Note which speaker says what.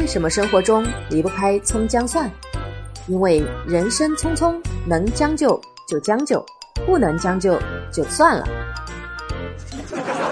Speaker 1: 为什么生活中离不开葱姜蒜？因为人生匆匆，能将就就将就，不能将就就算了。